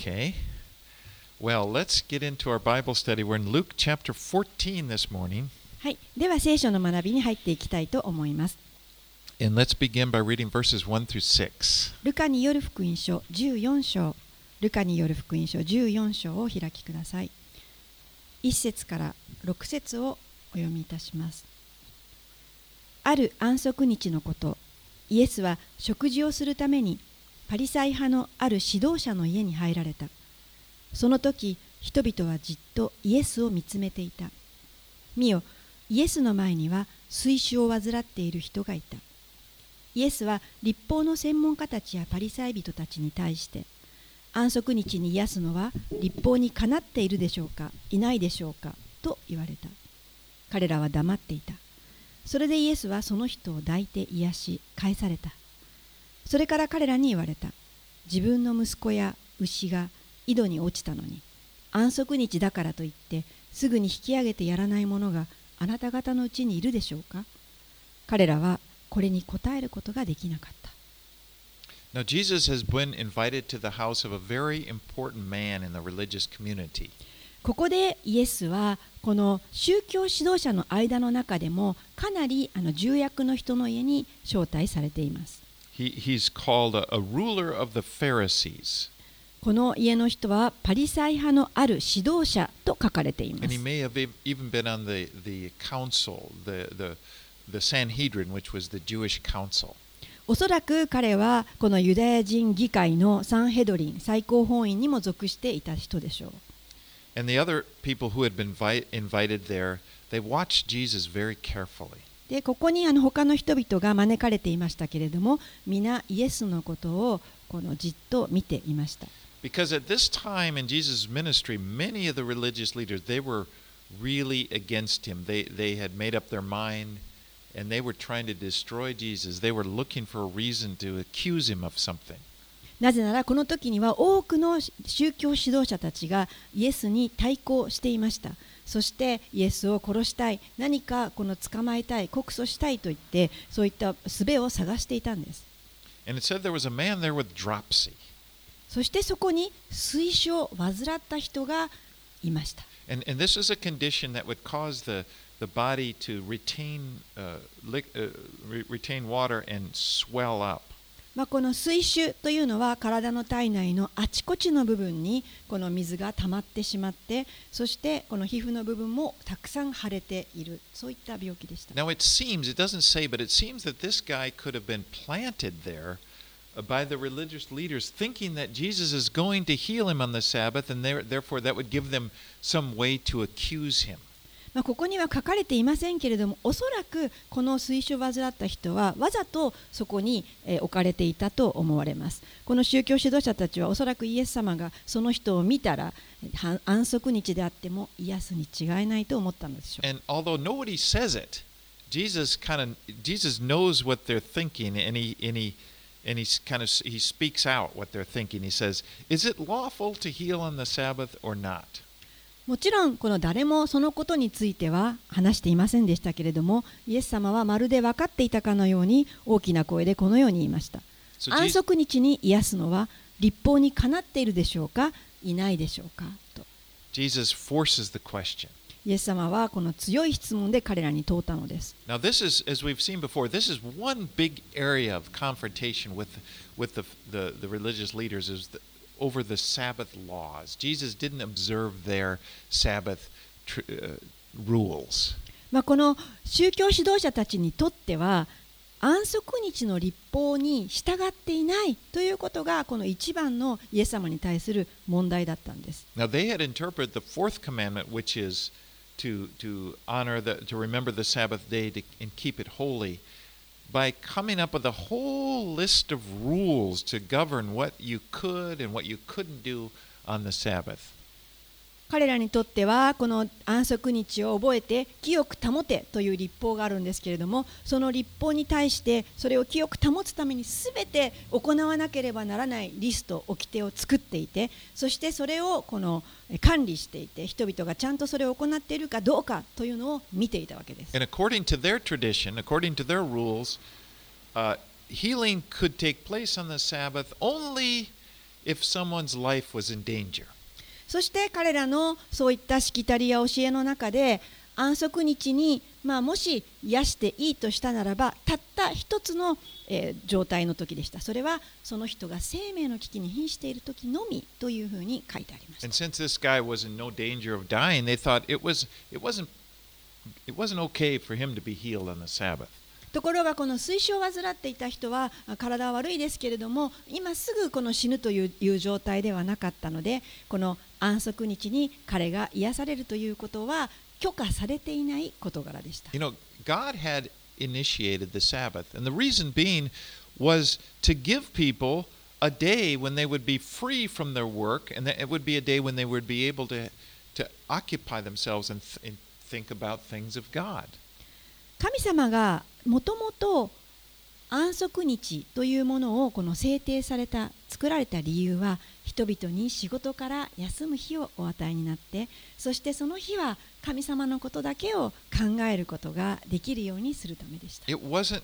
Okay. Well, let's get into our Bible study. We're in Luke chapter 14 this morning. はい、では聖書の学びに入っていきたいと思います。 And let's begin by reading verses 1 through 6. ルカによる福音書14章、ルカによる福音書14章をお開きください。1節から6節をお読みいたします。ある安息日のこと、イエスは食事をするためにパリサイ派のある指導者の家に入られた。その時、人々はじっとイエスを見つめていた。見よ、イエスの前には水腫を患っている人がいた。イエスは律法の専門家たちやパリサイ人たちに対して、安息日に癒すのは律法にかなっているでしょうか、いないでしょうか、と言われた。彼らは黙っていた。それでイエスはその人を抱いて癒し、返された。それから彼らに言われた。自分の息子や牛が井戸に落ちたのに、安息日だからといってすぐに引き上げてやらない者があなた方のうちにいるでしょうか。彼らはこれに答えることができなかった。 Now, Jesus has been invited to the house of a very important man in the religious community. ここでイエスはこの宗教指導者の間の中でもかなり重役の人の家に招待されています。 He's called a ruler of the Pharisees. この家の人はパリサイ派のある指導者と書かれていま And he す。 may have even been on the council, the Sanhedrin, which was the Jewish council. おそらく彼はこのユダヤ人議会のサンヘドリン最高法院にも属していた人でしょう。 And the other people who had been invited there, they watched Jesus very carefully. でここに他の人々が招かれていましたけれども、皆イエスのことをこのじっと見ていました。 Because at this time in Jesus' ministry, many of the religious leaders, they were really against him. They had made up their mind and they were trying to destroy Jesus. They were looking for a reason to accuse him of something. なぜならこの時には多くの宗教指導者たちがイエスに対抗していました。そしてイエスを殺したい、何かこの捕まえたい、告訴したいと言ってそういった術を探していたんです。 And it said there was a man there with dropsy. そしてそこに水腫を患った人がいました。 And this is a condition that would cause the body to retain water and swell up. この水腫というのは体の体内のあちこちの部分にこの水が溜まってしまって、そしてこの皮膚の部分もたくさん腫れている、そういった病気でした。 Now it seems, it doesn't say, but it seems that this guy could have been planted there by the religious leaders, thinking that Jesus is going to heal him on the Sabbath, and therefore that would give them some way to accuse him. ここには書かれていませんけれども、おそらくこの水腫を患った人はわざとそこに置かれていたと思われます。この宗教指導者たちはおそらくイエス様がその人を見たら安息日であっても癒すに違いないと思ったのでしょう。 And although nobody says it, Jesus knows what they're thinking, and he speaks out what they're thinking. He says, "Is it lawful to heal on the Sabbath or not?" もちろんこの誰もそのことについては話していませんでしたけれども、イエス様はまるで分かっていたかのように大きな声でこのように言いました。安息日に癒すのは律法にかなっているでしょうか、いないでしょうかと。 Jesus forces the question. イエス様はこの強い質問で彼らに問うたのです。 Now this is, as we've seen before, this is one big area of confrontation with the religious leaders over the Sabbath laws. Jesus didn't observe their Sabbath rules. この宗教指導者たちにとっては安息日の律法に従っていないということがこの一番のイエス様に対する問題だったんです。 Now they had interpreted the fourth commandment, which is to remember the Sabbath day and keep it holy, by coming up with a whole list of rules to govern what you could and what you couldn't do on the Sabbath. 彼らにとってはこの安息日を覚えて清く保てという律法があるんですけれども、その律法に対してそれを清く保つために全て行わなければならないリスト、掟を作っていて、そしてそれをこの管理していて、人々がちゃんとそれを行っているかどうかというのを見ていたわけです。 And according to their tradition, according to their rules, healing could take place on the Sabbath only if someone's life was in danger. そして彼らのそういったしきたりや教えの中で、安息日に、もし癒していいとしたならば、たった一つの、状態の時でした。それはその人が生命の危機に瀕している時のみというふうに書いてありました。 And since this guy was in no danger of dying, they thought it wasn't okay for him to be healed on the Sabbath. ところがこの水腫を患っていた人は体は悪いですけれども、今すぐこの死ぬという状態ではなかったので、この安息日に彼が癒されるということは許可されていない事柄でした。 You know, God had initiated the Sabbath, and the reason being was to give people a day when they would be free from their work, and it would be a day when they would be able to occupy themselves and think about things of God. 神様がもともと安息日というものをこの制定された、作られた理由は、人々に仕事から休む日をお与えになって、そしてその日は神様のことだけを考えることができるようにするためでした。 It wasn't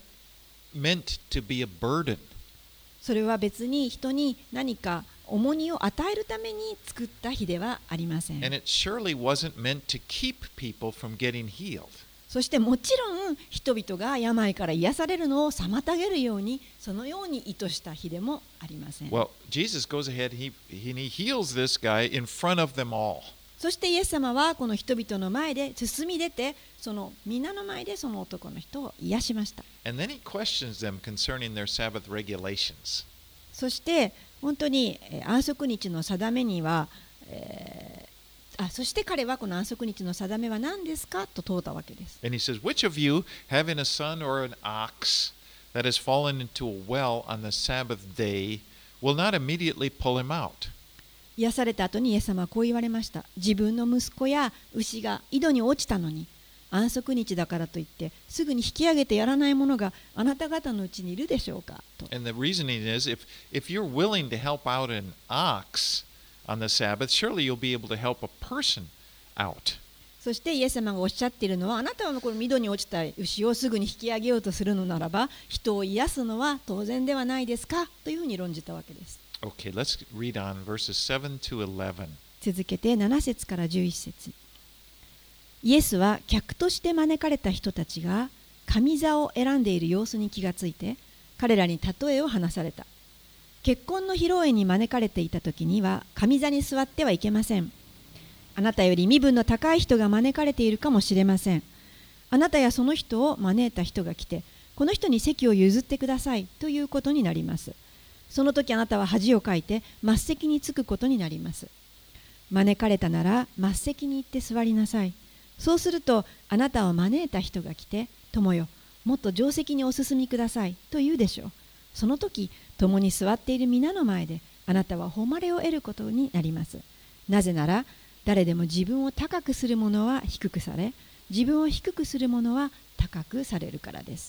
meant to be a burden. それは別に人に何か重荷を与えるために作った日ではありません。 And it surely wasn't meant to keep people from getting healed. そしてもちろん人々が病から癒されるのを妨げるように、そのように意図した日でもありません。 Well, Jesus goes ahead, he heals this guy in front of them all. そしてイエス様はこの人々の前で進み出て、その皆の前でその男の人を癒しました。 And then he questions them concerning their Sabbath regulations. そして本当に安息日の定めには、そして彼はこの安息日の定めは何ですかと問うたわけです。 And he says, which of you, having a son or an ox that has fallen into a well on the Sabbath day, will not immediately pull him out? 癒された後にイエス様はこう言われました。自分の息子や牛が井戸に落ちたのに、安息日だからといってすぐに引き上げてやらない者があなた方のうちにいるでしょうかと。 And the reasoning is, if you're willing to help out an ox on the Sabbath, surely you'll be able to help a person out. そしてイエス様がおっしゃっているのは、あなたはこの井戸に落ちた牛をすぐに引き上げようとするのならば、人を癒すのは当然ではないですかというふうに論じたわけです。 Okay, let's read on verses 7 to 11. 続けて7節から11節。イエスは客として招かれた人たちが上座を選んでいる様子に気がついて、彼らに例えを話された。結婚の披露宴に招かれていた時には上座に座ってはいけません。あなたより身分の高い人が招かれているかもしれません。あなたやその人を招いた人が来て、この人に席を譲ってくださいということになります。その時あなたは恥をかいて末席に着くことになります。招かれたなら末席に行って座りなさい。そうするとあなたを招いた人が来て、友よ、もっと上席にお進みくださいと言うでしょう。その時、共に座っている皆の前であなたは誉れを得ることになります。なぜなら、誰でも自分を高くする者は低くされ、自分を低くする者は高くされるからです。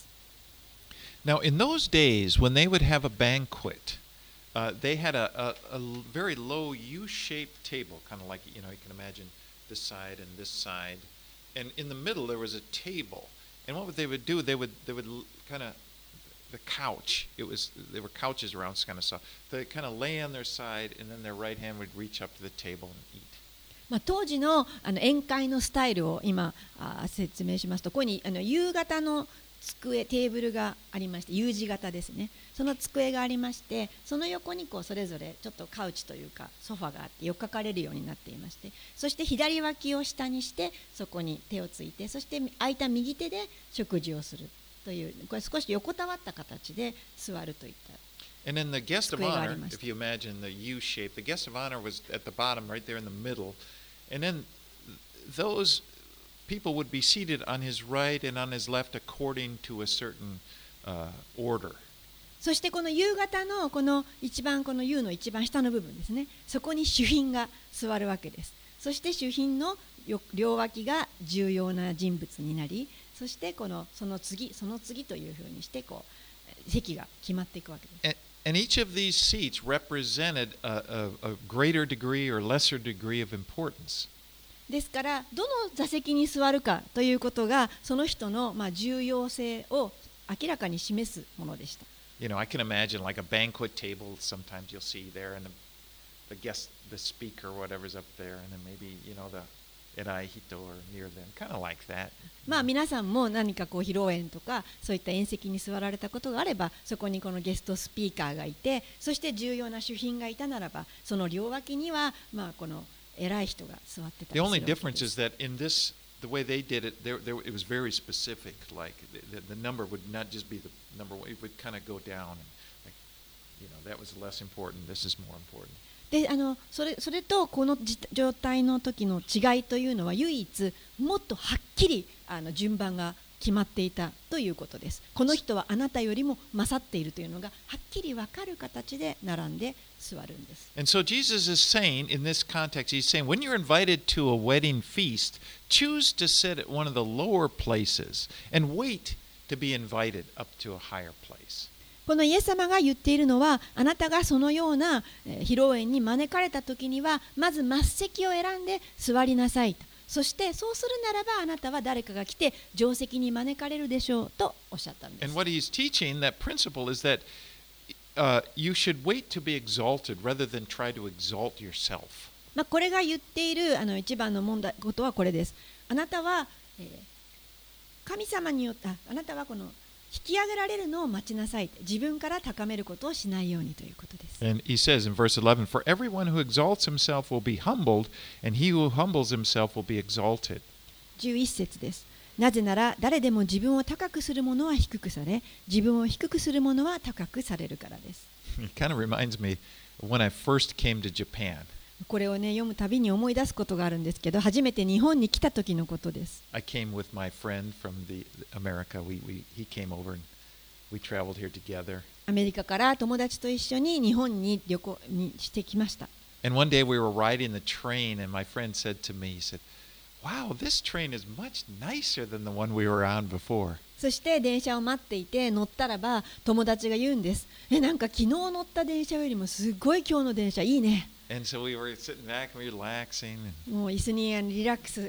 Now, in those days, when they would have a banquet, they had a very low U-shaped table, kind of like, you can imagine this side and this side. And in the middle, there was a table. And what they would do, they would kind of, the couch, there were couches around, kind of soft. They kind of lay on their side, and then their right hand would reach up to the table and eat. 当時の宴会のスタイルを今説明しますと、ここに夕方の机、テーブルがありまして、U 字型ですね。その机がありまして、その横にそれぞれちょっとカウチというかソファがあってよっかかれるようになっていまして、そして左脇を下にしてそこに手をついて、そして空いた右手で食事をするという、これ少し横たわった形で座るといった。 And then the guest of honor, if you imagine the U shape, the guest of honor was at the bottom, right there in the middle. And then those people would be seated on his right and on his left according to a certain order. そしてこの U 型のこの一番この U の一番下の部分ですね。そこに主賓が座るわけです。そして主賓の両脇が重要な人物になり、そしてその次というふうにして席が決まっていくわけです。 And each of these seats represented a greater degree or lesser degree of importance. ですからどの座席に座るかということがその人の重要性を明らかに示すものでした。 I can imagine like a banquet table. Sometimes you'll see there, and the speaker, whatever's up there, and then maybe, the Erai Hito or near them, kind of like that. まあ皆さんも何かこう披露宴とかそういった宴席に座られたことがあれば、そこにこのゲストスピーカーがいて、そして重要な主賓がいたならば、その両脇にはまあこの偉い人が座ってたりするわ The け only です。 difference is that in this, the way they did it, it was very specific. Like the number would not just be the number one; it would kind of go down. And like, that was less important. This is more important. でそれとこの状態の時の違いというのは、唯一もっとはっきり順番が決まっていたということです。この人はあなたよりも勝っているというのがはっきり分かる形で並んで座るんです。 And so Jesus is saying, in this context, he's saying, when you're invited to a wedding feast, choose to sit at one of the lower places and wait to be invited up to a higher place. このイエス様が言っているのは、あなたがそのような披露宴に招かれた時には、まず末席を選んで座りなさいと。そしてそうするならば、あなたは誰かが来て上席に招かれるでしょうとおっしゃったんです。 And what he's teaching, that principle, is that you should wait to be exalted rather than try to exalt yourself. これが言っている一番のことはこれです。あなたは、神様によってあなたはこの引き上げられるのを待ちなさい。自分から高めることをしないようにということです。 And he says in verse 11, For everyone who exalts himself will be humbled, and he who humbles himself will be exalted. 11節です。なぜなら誰でも自分を高くする者は低くされ、自分を低くする者は高くされるからです。 It kind of reminds me of when I first came to Japan. これをね、読むたびに思い出すことがあるんですけど、初めて日本に来た時のことです。 I came with my friend from America. He came over and we traveled here together. アメリカから友達と一緒に日本に旅行にしてきました。 And one day we were riding the train, and my friend said to me, he said, Wow, this train is much nicer than the one we were on before. そして電車を待っていて乗ったらば、友達が言うんです。なんか昨日乗った電車よりもすごい今日の電車いいね。 And so we were sitting back and relaxing. もう椅子にリラックス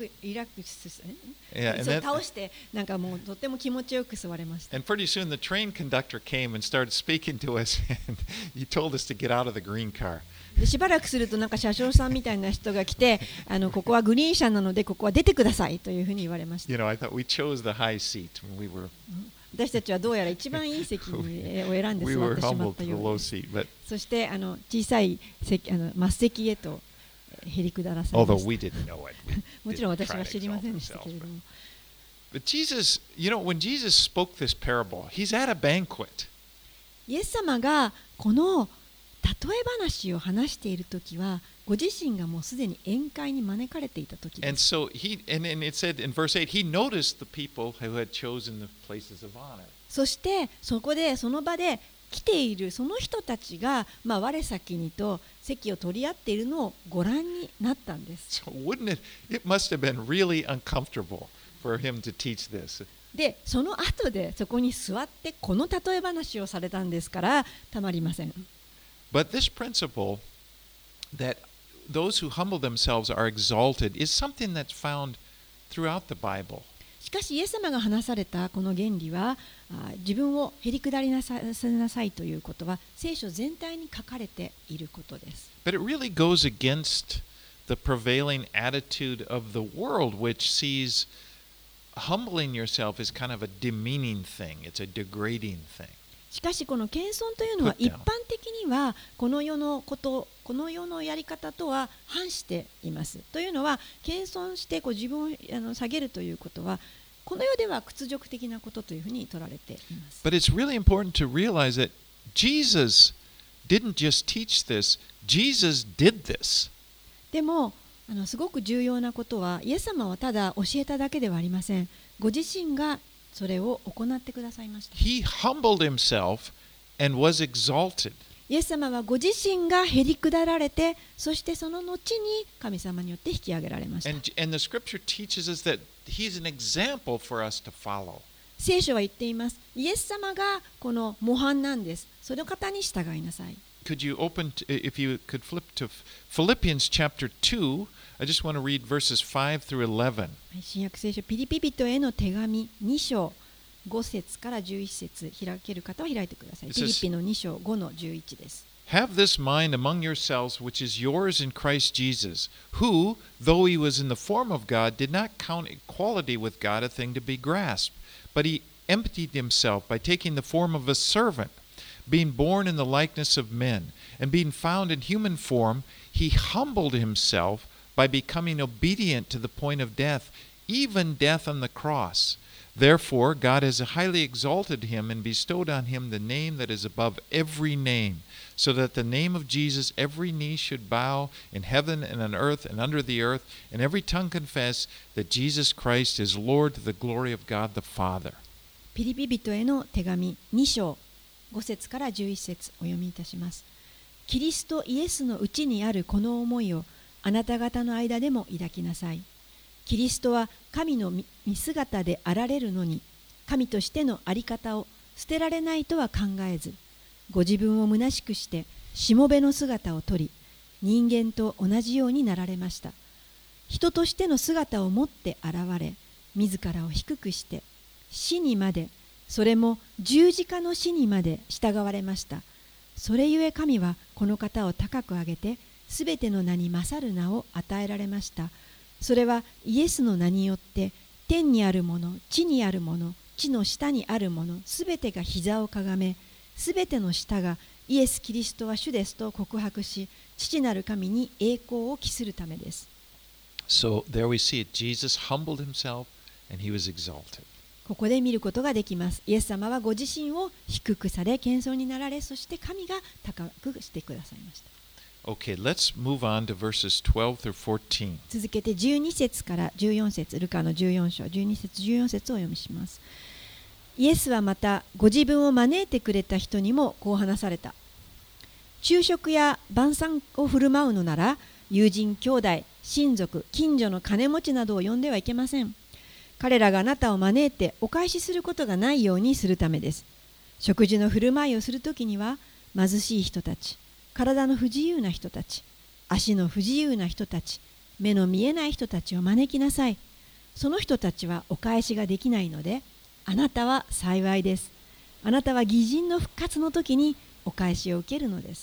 そう倒してなんかもうとっても気持ちよく座れました。 And pretty soon the train conductor came and started speaking to us, and he told us to get out of the green car. でしばらくするとなんか車掌さんみたいな人が来て、ここはグリーン車なのでここは出てくださいというふうに言われました。 I thought we chose the high seat when we were. 私たちはどうやら一番いい席を選んで座ってしまったようです。そして小さい席末席へとへりくだらされました。もちろん私は知りませんでしたけれども。 But Jesus, when Jesus spoke this parable, he's at a banquet. イエス様がこの例え話を話しているときは、ご自身がもうすでに宴会に招かれていたときです。 And so it said in verse 8, he noticed the people who had chosen the places of honor. そしてその場で来ているその人たちが、我先にと席を取り合っているのをご覧になったんです。 So it must have been really uncomfortable for him to teach this. で、その後でそこに座ってこの例え話をされたんですからたまりません。 But this principle that those who humble themselves are exalted is something that's found throughout the Bible. しかしイエス様が話されたこの原理は、自分をへりくだりなさいということは聖書全体に書かれていることです。 But it really goes against the prevailing attitude of the world, which sees humbling yourself as kind of a demeaning thing. It's a degrading thing. しかしこの謙遜というのは一般的にはこの世のやり方とは反しています。というのは謙遜して自分を下げるということはこの世では屈辱的なことというふうに取られています。 But it's really important to realize that Jesus didn't just teach this, Jesus did this. でもすごく重要なことはイエス様はただ教えただけではありません。ご自身がそれを行ってくださいました。 He humbled himself and was exalted. イエス様はご自身がへりくだられて、そしてその後に神様によって引き上げられました。 And the scripture teaches us that he's an example for us to follow. 聖書は言っています。イエス様がこの模範なんです。その方に従いなさい。 Could you if you could flip to Philippians chapter 2, I just want to read verses 5 through 11. 新約聖書ピリピ人への手紙2章5節から11節開ける方は開いてください。ピリピの2章5の11です。 Have this mind among yourselves, which is yours in Christ Jesus, who, though he was in the form of God, did not count equality with God a thing to be grasped, but he emptied himself by taking the form of a servant, being born in the likeness of men, and being found in human form, he humbled himself by becoming obedient to the point of death, even death on the cross. Therefore, God has highly exalted him and bestowed on him the name that is above every name, so that the name of Jesus every knee should bow in heaven and on earth and under the earth, and every tongue confess that Jesus Christ is Lord to the glory of God the Father. ピリピ人への手紙2章5節から11節お読みいたします。キリストイエスのうちにあるこの思いをあなた方の間でも抱きなさい。キリストは神の見姿であられるのに、神としてのあり方を捨てられないとは考えず、ご自分を虚しくしてしもべの姿をとり、人間と同じようになられました。人としての姿を持って現れ、自らを低くして死にまで、それも十字架の死にまで従われました。それゆえ神はこの方を高く上げて、すべての名に勝る名を与えられました。それはイエスの名によって天にあるもの、地にあるもの、地の下にあるもの、すべてが膝をかがめ、すべての舌がイエス・キリストは主ですと告白し、父なる神に栄光を期するためです。 So there we see it. Jesus humbled himself and he was exalted. ここで見ることができます。イエス様はご自身を低くされ、謙遜になられ、そして神が高くしてくださいました。 Okay, let's move on to verses 12 through 14. 続けて12節から14節、ルカの14章、12節14節をお読みします。イエスはまたご自分を招いてくれた人にもこう話された。昼食や晩餐を振る舞うのなら、友人、兄弟、親族、近所の金持ちなどを呼んではいけません。彼らがあなたを招いてお返しすることがないようにするためです。食事の振る舞いをするときには、貧しい人たち、体の不自由な人たち、足の不自由な人たち、目の見えない人たちを招きなさい。その人たちはお返しができないので、あなたは幸いです。あなたは義人の復活の時にお返しを受けるのです。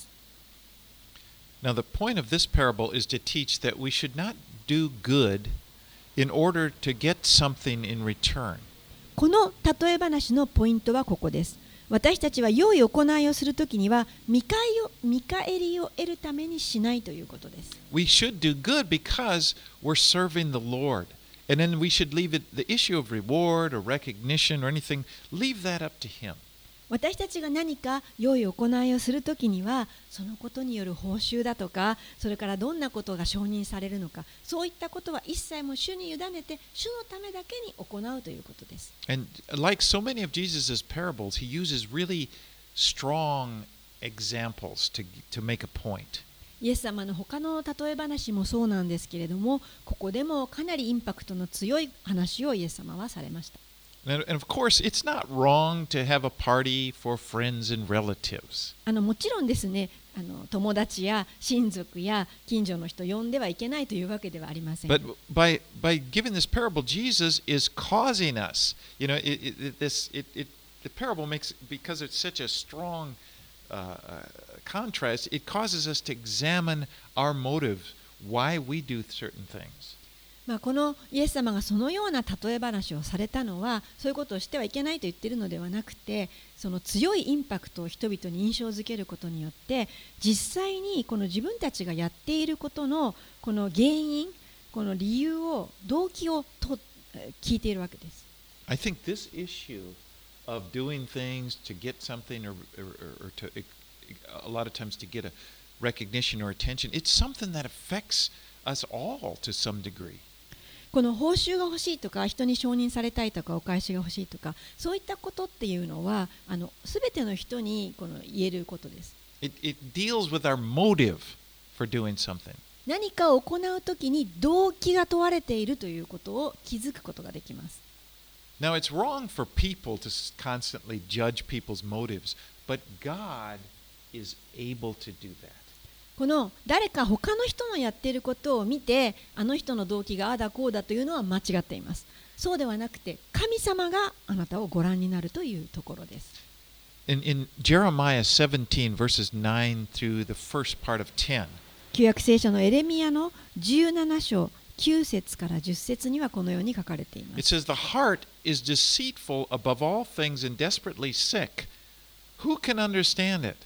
Now, the point of this parable is to teach that we should not do good in order to get something in return. この例え話のポイントはここです。私たちは良い行いをするときには見返りを得るためにしないということです。 We should do good because we're serving the Lord. And then we should leave it, the issue of reward or recognition or anything, leave that up to Him. 私たちが何か良い行いをするときには、そのことによる報酬だとか、それからどんなことが承認されるのか、そういったことは一切も主に委ねて、主のためだけに行うということです。 And like so many of Jesus' parables, He uses really strong examples to make a point. イエス様の他の例え話もそうなんですけれども、ここでもかなりインパクトの強い話をイエス様はされました。 And of course, it's not wrong to have a party for friends and relatives. もちろんですね、友達や親族や近所の人を呼んではいけないというわけではありません。 But by giving this parable, Jesus is causing us, the parable makes, because it's such a strong contrast, it causes us to examine our motives, why we do certain things. このイエス様がそのような例え話をされたのは、そういうことをしてはいけないと言っているのではなくて、その強いインパクトを人々に印象づけることによって、実際にこの自分たちがやっていることのこの原因、この理由を、動機を聞いているわけです。 I think this issue of doing things to get something or to a lot of times to get a recognition or attention, it's something that affects us all to some degree. この報酬が欲しいとか、人に承認されたいとか、お返しが欲しいとか、そういったことっていうのはすべての人に言えることです。 It deals with our motive for doing something. 何かを行うときに動機が問われているということを気づくことができます。 Now, it's wrong for people to constantly judge people's motives, but God is able to do that. この誰か他の人のやっていることを見て、あの人の動機がああだこうだというのは間違っています。そうではなくて、神様があなたをご覧になるというところです。 in Jeremiah 17, verses 9 through the first part of 10, 旧約聖書のエレミヤの17章9節から10節にはこのように書かれていま it す。 says, The heart is deceitful above all things and desperately sick. Who can understand it?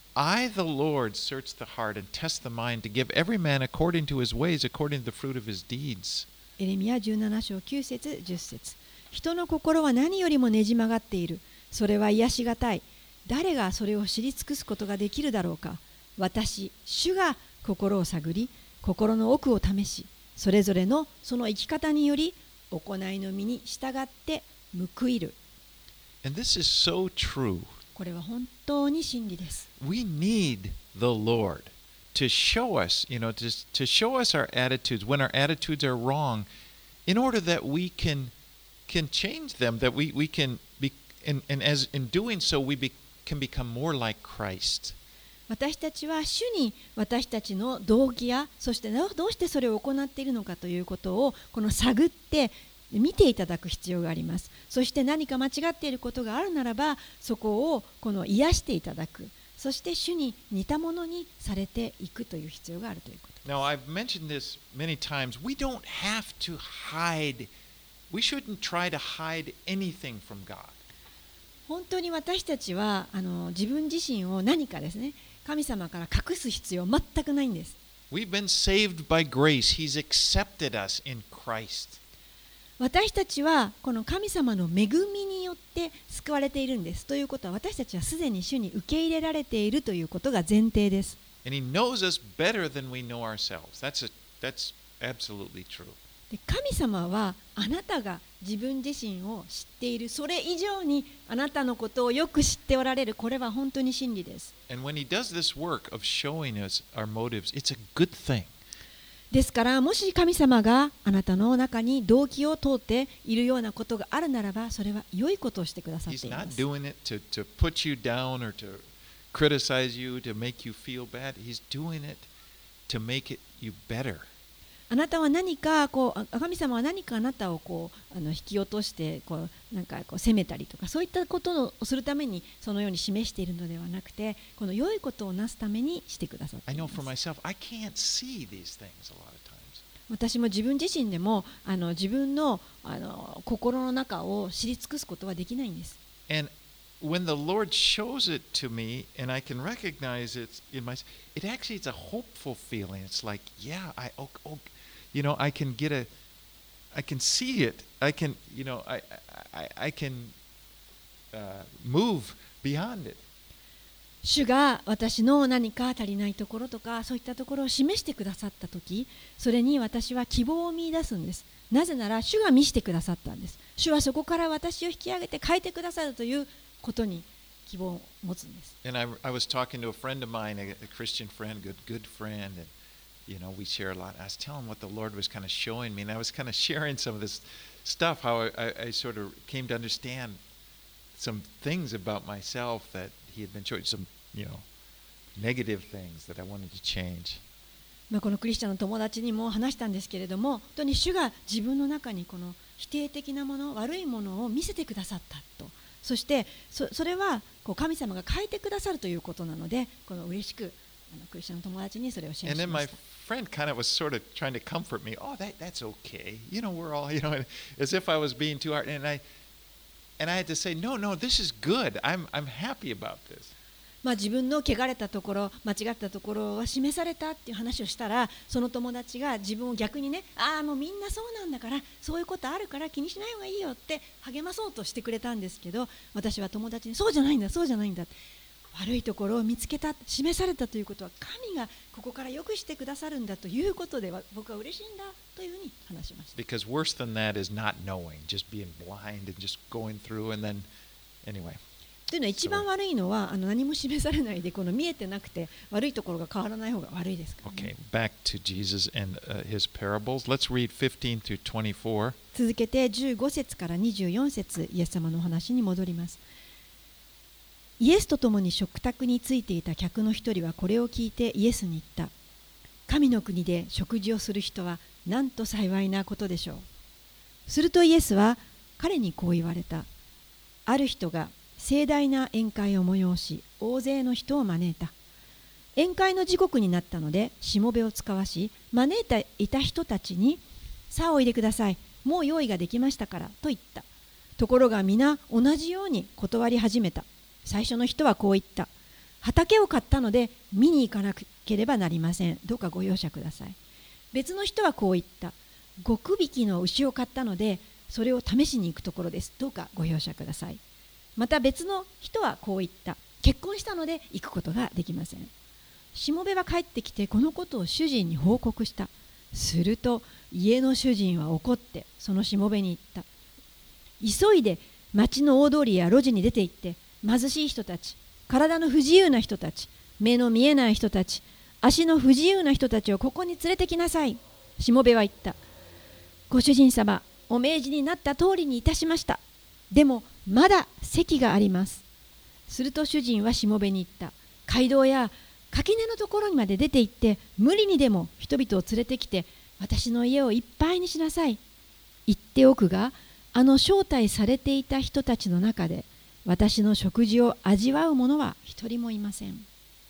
I, the Lord, search the heart and test the mind to give every man according to his ways, according to the fruit of his deeds. エレミヤ17章9節10節人の心は何よりもねじ曲がっている。それは癒しがたい。誰がそれを知り尽くすことができるだろうか。私、主が心を探り、心の奥を試し、それぞれのその生き方により、行いの身に従って報いる。 And this is so true. これは本当に真理です。 We need the Lord to show us, to show us our attitudes when our attitudes are wrong, in order that we can change them, that we can be, and as in doing so, can become more like Christ. 私たちは主に私たちの動機やそしてどうしてそれを行っているのかということをこの探って見ていただく必要があります。そして何か間違っていることがあるならばそこをこの癒していただく。そして主に似たものにされていくという必要があるということ。 Now, I've mentioned this many times. We don't have to hide. We shouldn't try to hide anything from God. 本当に私たちは自分自身を何かですね、神様から隠す必要全くないんです。 We've been saved by grace. He's accepted us in Christ. 私たちはこの神様の恵みによって救われているんです。ということは私たちはすでに主に受け入れられているということが前提です。 And He knows us better than we know ourselves. That's absolutely true. で神様はあなたが自分自身を知っている、それ以上にあなたのことをよく知っておられる。これは本当に真理です。 And when He does this work of showing us our motives, it's a good thing. ですからもし神様があなたの中に動機を通っているようなことがあるならば、それは良いことをしてくださってい He's ま not す。 doing it to put you down or to criticize you, to make you feel bad. He's doing it to make you better. あなたは何か神様は何かあなたを引き落としてなんか責めたりとかそういったことをするためにそのように示しているのではなくて、この良いことをなすためにしてくださって I い know ま for す。 myself, I can't see these things a lot of times. 私も自分自身でも自分の心の中を知り尽くすことはできないんです。 And when the Lord shows it to me and I can recognize it in myself, it actually is a hopeful feeling. It's like, yeah, I can I can see it. I can, I can move beyond it. 主が私の何か足りないところとかそういったところを示してくださったとき、それに私は希望を見出すんです。なぜなら主が見せてくださったんです。主はそこから私を引き上げて変えてくださるということに希望を持つんです。 And I was talking to a friend of mine, a Christian friend, good friend, and we share a lot. I was telling him what the Lord was kind of showing me, and I was kind of sharing some of this stuff, how I sort of came to understand some things about myself that he had been showing, some, negative things that I wanted to change. このクリスチャンの友達にも話したんですけれども、本当に主が自分の中にこの否定的なもの、悪いものを見せてくださったと。そしてそれは神様が変えてくださるということなので、この嬉しくクリスチャンの友達にそれをシェア And し then ま my した。 friend kind of was sort of trying to comfort me. Oh, that's okay. We're all, as if I was being too hard. And I had to say, no, this is good. I'm happy about this. 自分の汚れたところ、間違ったところは示されたっていう話をしたら、その友達が自分を逆にね、もうみんなそうなんだから、そういうことあるから気にしない方がいいよって励まそうとしてくれたんですけど、私は友達にそうじゃないんだ、そうじゃないんだ。悪いところを見つけた、示されたということは神がここから良くしてくださるんだということで僕は嬉しいんだというふうに話しました。 Because worse than that is not knowing, just being blind and just going through and then, anyway. というのは一番悪いのは何も示されないで見えてなくて悪いところが変わらない方が悪いですからね。 Okay, back to Jesus and his parables. Let's read 15 through 24. 続けて15節から24節、イエス様のお話に戻ります。イエスと共に食卓についていた客の一人はこれを聞いてイエスに言った。神の国で食事をする人はなんと幸いなことでしょう。するとイエスは彼にこう言われた。ある人が盛大な宴会を催し、大勢の人を招いた。宴会の時刻になったので、しもべを使わし、招いていた人たちに、さあおいでください、もう用意ができましたからと言った。ところが皆同じように断り始めた。最初の人はこう言った。畑を買ったので見に行かなければなりません。どうかご容赦ください。別の人はこう言った。5匹の牛を買ったのでそれを試しに行くところです。どうかご容赦ください。また別の人はこう言った。結婚したので行くことができません。しもべは帰ってきてこのことを主人に報告した。すると家の主人は怒ってそのしもべに言った。急いで町の大通りや路地に出て行って貧しい人たち、体の不自由な人たち、目の見えない人たち、足の不自由な人たちをここに連れてきなさい。しもべは言った。ご主人様、お命じになった通りにいたしました。でもまだ席があります。すると主人はしもべに言った。街道や垣根のところにまで出て行って無理にでも人々を連れてきて私の家をいっぱいにしなさい。言っておくが、招待されていた人たちの中で私の食事を味わう者は一人もいません。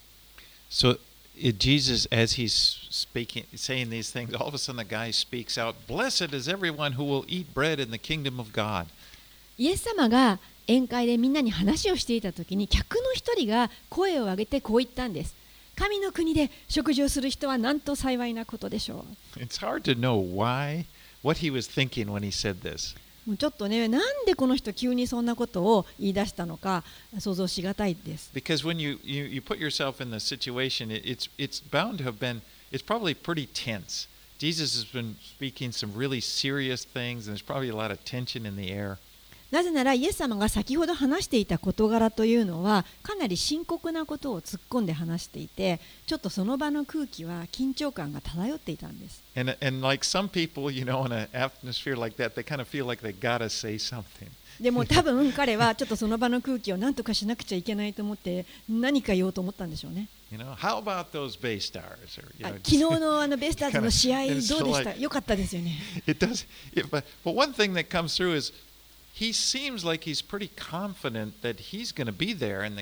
So Jesus, as he's speaking, saying these things, all of a sudden the guy speaks out, "Blessed is everyone who will eat bread in the kingdom of God." イエス様が宴会でみんなに話をしていたときに客の一人が声を上げてこう言ったんです。神の国で食事をする人はなんと幸いなことでしょう。 It's hard to know what he was thinking when he said this. もうちょっとね、なんでこの人急にそんなことを言い出したのか想像しがたいです。 Because when you put yourself in the situation, it's bound to have been, it's probably pretty tense. Jesus has been speaking some really serious things, and there's probably a lot of tension in the air. なぜならイエス様が先ほど話していた事柄というのはかなり深刻なことを突っ込んで話していて、ちょっとその場の空気は緊張感が漂っていたんです。 And like some people, in an atmosphere like that, they kind of feel like they gotta say something. でも多分彼はちょっとその場の空気を何とかしなくちゃいけないと思って何か言おうと思ったんでしょうね。 How about those Bay Stars? Or, 昨日のベイスターズの試合どうでした？良かったですよね。 It does, but one thing that comes through is he seems like he's pretty confident that he's going to be there in the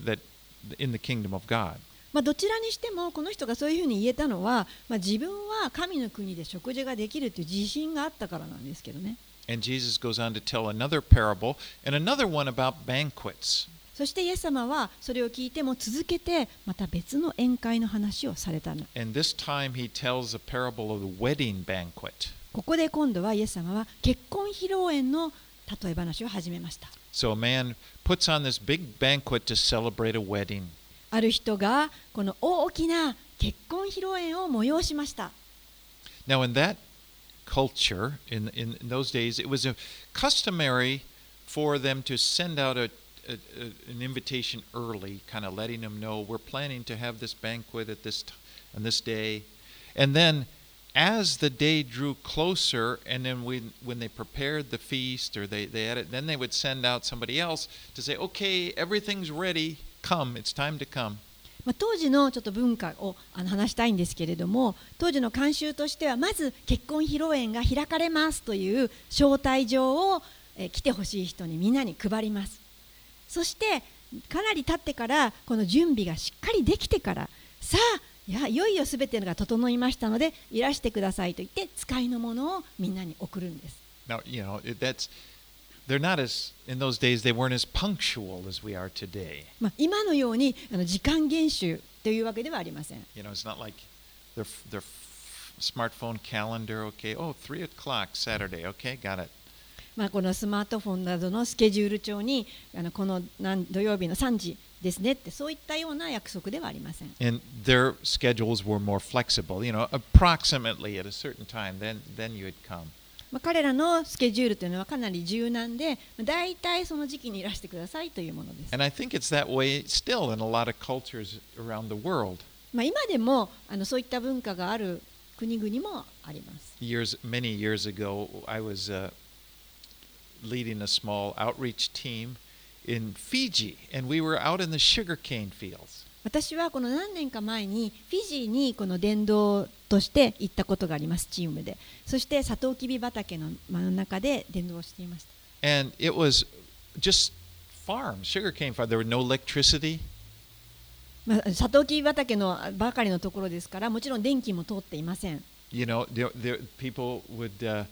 kingdom of God. どちらにしてもこの人がそういうふうに言えたのは、自分は神の国で食事ができるという自信があったからなんですけどね。 And Jesus goes on to tell another parable and another one about banquets. そしてイエス様はそれを聞いても続けてまた別の宴会の話をされたの。 And this time he tells a parable of the wedding banquet. ここで今度はイエス様は結婚披露宴の例え話を始めました。 So a man puts on this big banquet to celebrate a wedding. ある人がこの大きな結婚披露宴を催しました。 Now in that culture, in those days, it was customary for them to send out an invitation early, kind of letting them know we're planning to have this banquet on this day. And then as the day drew closer, and then when they prepared the feast or they had it, then they would send out somebody else to say, okay, everything's ready, come, it's time to come. 当時のちょっと文化を話したいんですけれども、当時の慣習としてはまず結婚披露宴が開かれますという招待状を来てほしい人にみんなに配ります。そしてかなり経ってからこの準備がしっかりできてから、さあいよいよすべてが整いましたのでいらしてくださいと言って使いのものをみんなに送るんです。 Now, they're not as, in those days, they weren't as punctual as we are today. 今のように時間厳守というわけではありません。 It's not like their smartphone calendar, okay, 3 o'clock Saturday, okay, got it. このスマートフォンなどのスケジュール帳にこの土曜日の3時ですねってそういったような約束ではありません。 And their schedules were more flexible, approximately at a certain time, then you would come. 彼らのスケジュールというのはかなり柔軟で、だいたいその時期にいらしてくださいというものです。 And I think it's that way still in a lot of cultures around the world. 今でもそういった文化がある国々もあります。 Many years ago, I was leading a small outreach team in Fiji, and we were out in the sugarcane fields. 私はこの何年か前にフィジーにこの伝道として行ったことがあります、チームで。そしてサトウキビ畑の真ん中で伝道をしていました。 And it was just farms, sugarcane farm. There was no electricity. サトウキビ畑のばかりのところですから、もちろん電気も通っていません。 You know, people would,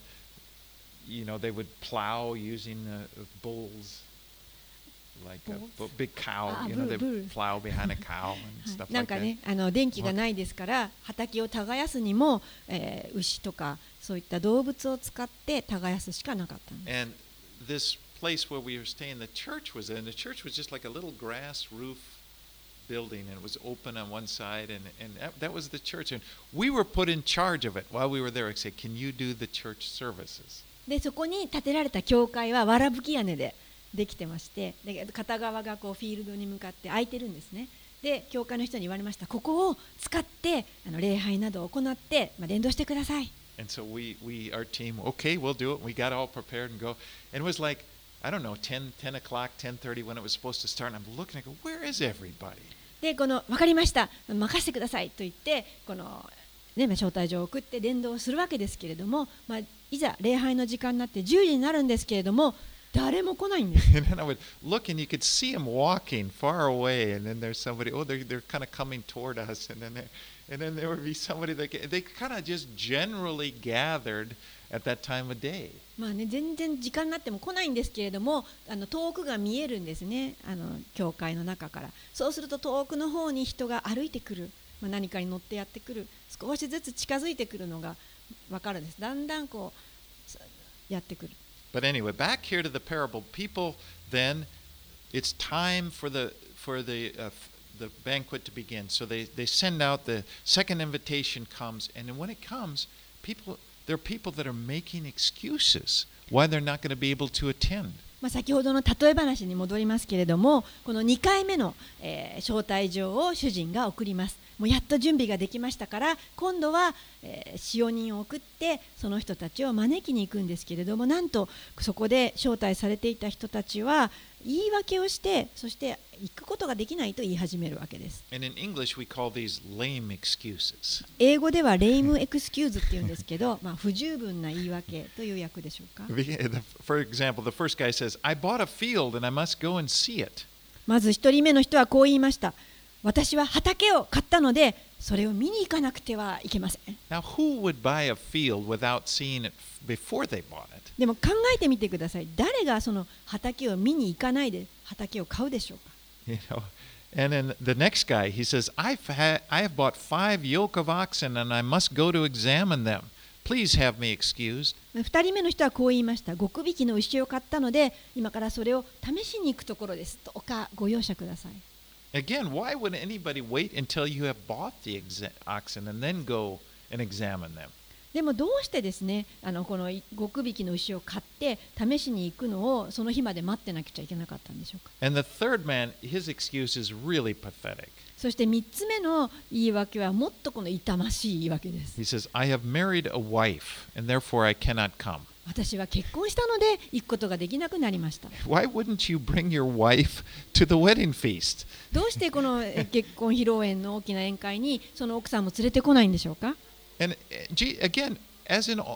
they would plow using bulls, like a big cow. They plow behind a cow and stuff なん like か that. ね、電気がないですから、畑を耕すにも、牛とかそういった動物を使って耕すしかなかったんです。 And this place where we were staying, the church was in. The church was just like a little grass roof building, and it was open on one side, and that was the church. And we were put in charge of it while we were there. I said, "Can you do the church services?" でそこに建てられた教会はわらぶき屋根でできてまして、で片側がこうフィールドに向かって空いてるんですね。で教会の人に言われました。ここを使って礼拝などを行って、伝道してください。 And so our team, okay, we'll do it. We got all prepared and go. And it was like, I don't know, 10 o'clock, 10:30 when it was supposed to start. And I'm looking, I go, where is everybody? で分かりました、任せてくださいと言って招待状を送って伝道をするわけですけれども、いざ礼拝の時間になって10時になるんですけれども、誰も来ないんです。 And then I would look and you could see them walking far away, and then there's somebody, they're kind of coming toward us, and then there would be somebody that they kind of just generally gathered at that time of day. 全然時間になっても来ないんですけれども、遠くが見えるんですね、教会の中から。そうすると遠くの方に人が歩いてくる、何かに乗ってやってくる、少しずつ近づいてくるのが分かるんです。だんだんこうやってくる。 But anyway, back here to the parable, people then, it's time for the banquet to begin. So they send out, the second invitation comes, and then when it comes, there are people that are making excuses why they're not going to be able to attend. 先ほどの例え話に戻りますけれども、この2回目の、招待状を主人が送ります。もうやっと準備ができましたから、今度は、使用人を送ってその人たちを招きに行くんですけれども、なんとそこで招待されていた人たちは言い訳をして、そして行くことができないと言い始めるわけです。 And in English, we call these lame excuses. 英語ではレイムエクスキューズっていうんですけど、不十分な言い訳という訳でしょうか。 For example, the first guy says, I bought a field and I must go and see it. まず一人目の人はこう言いました。私は畑を買ったので、それを見に行かなくてはいけません。 Now, who would buy a field without seeing it before they bought it? でも考えてみてください。誰がその畑を見に行かないで畑を買うでしょうか。 You know, and then the next guy, he says, I have bought 5 yoke of oxen and I must go to examine them. Please have me excused. 2人目の人はこう言いました。5区引きの牛を買ったので、今からそれを試しに行くところです。どうかご容赦ください。 Again, why would anybody wait until you have bought the oxen and then go and examine them? でもどうしてですね、この5区引きの牛を買って試しに行くのをその日まで待ってなくちゃいけなかったんでしょうか。 And the third man, his excuse is really pathetic. そして3つ目の言い訳はもっとこの痛ましい言い訳です。 He says, I have married a wife and therefore I cannot come. 私は結婚したので行くことができなくなりました。 Why wouldn't you bring your wife to the wedding feast? どうしてこの結婚披露宴の大きな宴会にその奥さんも連れてこないんでしょうか。 And again, as in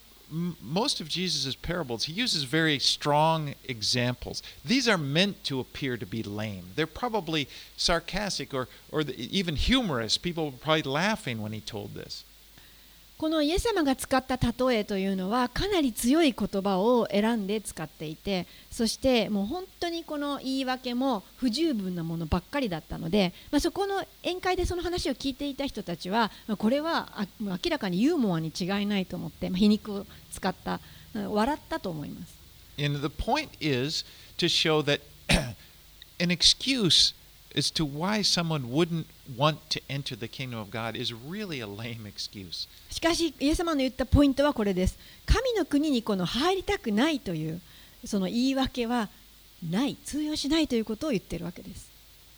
most of Jesus' parables, he uses very strong examples. These are meant to appear to be lame. They're probably sarcastic or even humorous. People were probably laughing when he told this. このイエス様が使った例えというのはかなり強い言葉を選んで使っていて、そしてもう本当にこの言い訳も不十分なものばっかりだったので、そこの宴会でその話を聞いていた人たちは、これは明らかにユーモアに違いないと思って、皮肉を使った笑ったと思います。 And the point is to show that an excuse as to why someone wouldn't want to enter the kingdom of God is really a lame excuse. しかしイエス様の言ったポイントはこれです。神の国にこの入りたくないというその言い訳はない、通用しないということを言っているわけです。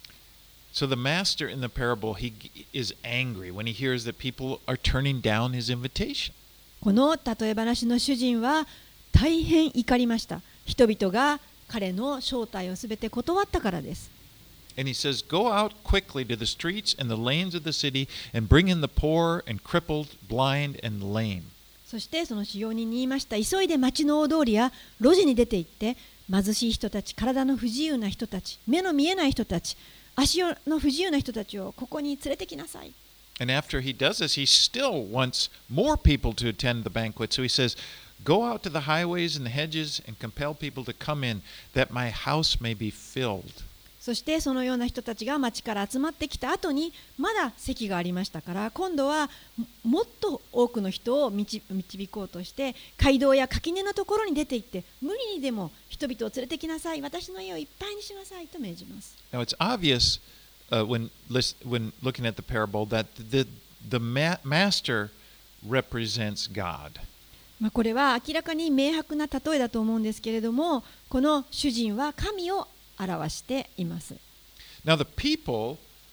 So the master in the parable, he is angry when he hears that people are turning down his invitation. この例え話の主人は大変怒りました。人々が彼の招待をすべて断ったからです。 And he says, Go out quickly to the streets and the lanes of the city and bring in the poor and crippled, blind and lame. そしてその使用人に言いました。急いで町の大通りや路地に出て行って、貧しい人たち、体の不自由な人たち、目の見えない人たち、足の不自由な人たちをここに連れてきなさい。 And after he does this, he still wants more people to attend the banquet. So he says, Go out to the highways and the hedges and compel people to come in, that my house may be filled. そしてそのような人たちが町から集まってきた後にまだ席がありましたから、今度はもっと多くの人を導こうとして街道や垣根のところに出て行って、無理にでも人々を連れてきなさい、私の家をいっぱいにしなさいと命じます。 Now it's obvious when looking at the parable that the master represents God. これは明らかに明白な例えだと思うんですけれども、この主人は神を表しています。 Now the people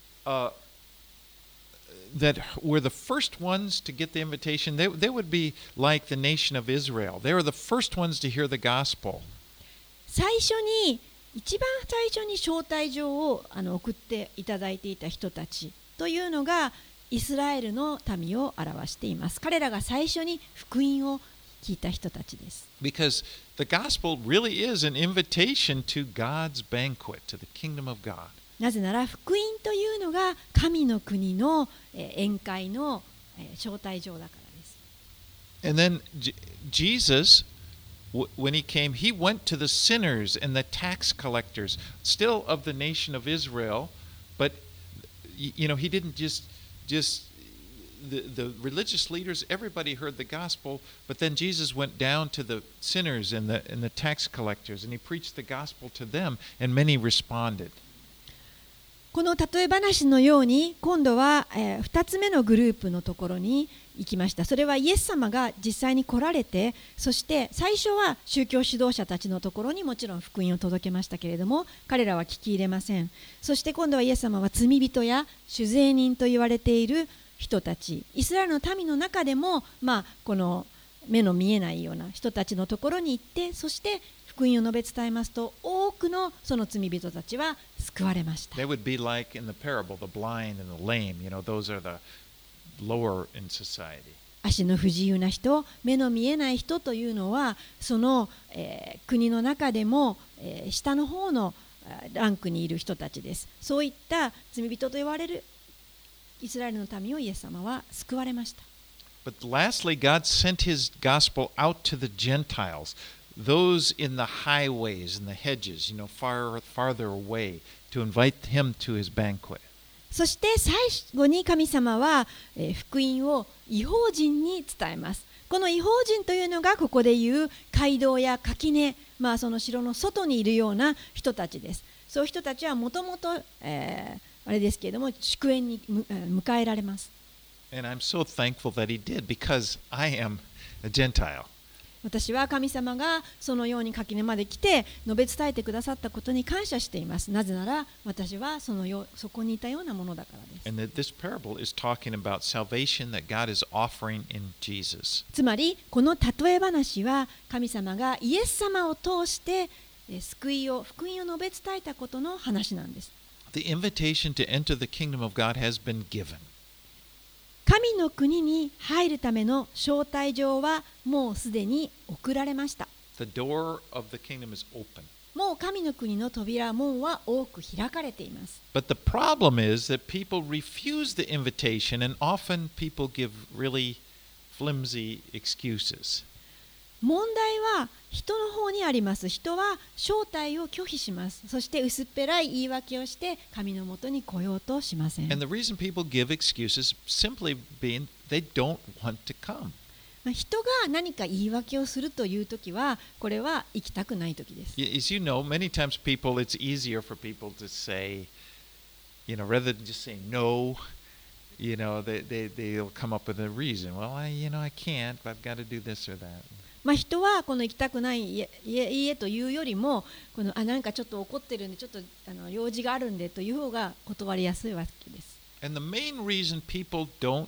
that were the first ones to get the invitation, they would be like the nation of Israel. They were the first ones to hear the gospel. 一番最初に招待状を送っていただいていた人たちというのがイスラエルの民を表しています。彼らが最初に福音を聞いた人たちです。 Because the gospel really is an invitation to God's banquet, to the kingdom of God. なぜなら福音というのが神の国の宴会の招待状だからです。 And then Jesus, when he came, he went to the sinners and the tax collectors, still of the nation of Israel, but he didn't just the religious leaders, everybody heard the gospel, but then Jesus went down to the sinners and the tax collectors, and he preached the gospel to them, and many responded. この例え話のように、今度は2つ目のグループのところに行きました。それはイエス様が実際に来られて、そして最初は宗教指導者たちのところにもちろん福音を届けましたけれども、彼らは聞き入れません。そして今度はイエス様は罪人や酒税人と言われている人たち、イスラエルの民の中でも、この目の見えないような人たちのところに行って、そして福音を述べ伝えますと、多くのその罪人たちは救われました。 They would be like in the parable, the blind and the lame. Those are the lower in society. 足の不自由な人、目の見えない人というのは、その、国の中でも、下の方のランクにいる人たちです。そういった罪人と言われるイスラエルの民をイエス様は救われました。 But lastly, God sent his gospel out to the Gentiles, those in the highways and the hedges, farther away, to invite him to his banquet. そして最後に神様は福音を異邦人に伝えます。この異邦人というのがここでいう街道や垣根、その城の外にいるような人たちです。そういう人たちはもともとあれですけれども祝宴に迎えられます。 And I'm so thankful that he did, because I am a Gentile. 私は神様がそのように垣根まで来て述べ伝えてくださったことに感謝しています。なぜなら私はそこにいたようなものだからです。 And that this parable is talking about salvation that God is offering in Jesus. つまりこの例え話は神様がイエス様を通して福音を述べ伝えたことの話なんです。 The invitation to enter the kingdom of God has been given. 神の国に入るための招待状はもうすでに送られました。 The door of the kingdom is open. もう神の国の扉、門は多く開かれています。 But the problem is that people refuse the invitation, and often people give really flimsy excuses. 問題は人の方にあります。人は招待を拒否します。そして薄っぺらい言い訳をして神のもとに来ようとしません。 And the reason people give excuses simply being they don't want to come. 人が何か言い訳をするというときは、これは行きたくないときです。 As you know, many times it's easier for people to say, rather than just saying no, they'll come up with a reason. Well, I can't, but I've got to do this or that. 人はこの行きたくないいいえというよりも、なんかちょっと怒ってるんで、ちょっと用事があるんでという方が断りやすいわけです。 And the main reason people don't,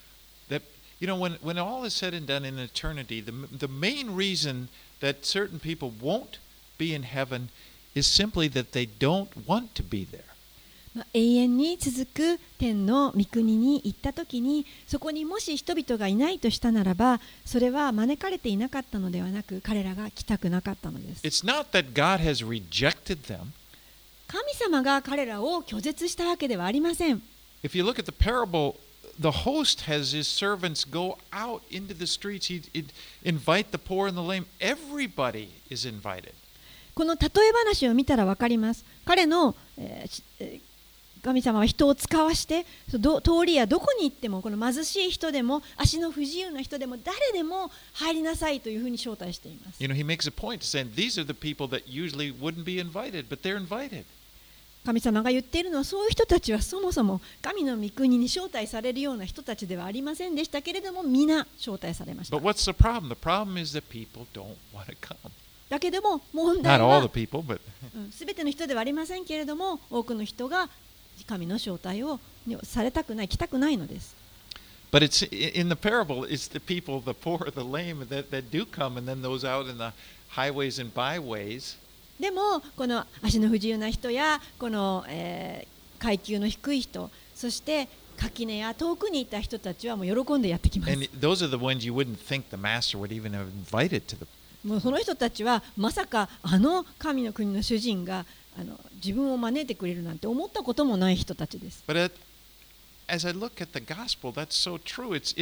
when all is said and done in eternity, the main reason that certain people won't be in heaven is simply that they don't want to be there. 永遠に続く天の御国に行った時に、そこにもし人々がいないとしたならば、それは招かれていなかったのではなく、彼らが来たくなかったのです。 It's not that God has rejected them. 神様が彼らを拒絶したわけではありません。 If you look at the parable, the host has his servants go out into the streets. He'd invite the poor and the lame. Everybody is invited. この例え話を見たら分かります。彼の、神様は人を使わして、通りやどこに行っても、この貧しい人でも足の不自由な人でも誰でも入りなさいというふうに招待しています。 You know, he makes a point to saying these are the people that usually wouldn't be invited, but they're invited. 神様が言っているのは、そういう人たちはそもそも神の御国に招待されるような人たちではありませんでしたけれども、皆招待されました。 But what's the problem? The problem is that people don't want to come. だけども問題 Not all は the people, but すべての人ではありませんけれども、多くの人が神の招待をされたくない、来たくないのです。 But it's in the parable, it's the people, the poor, the lame that do come, and then those out in the highways and byways. でもこの足の不自由な人やこの、階級の低い人、そして垣根や遠くにいた人たちはもう喜んでやってきます。 And those are the ones you wouldn't think the master would even have invited to the. もうその人たちはまさかあの神の国の主人が自分を招いてくれるなんて思ったこともない人たちです。 But as I look at the gospel, that's so true. It's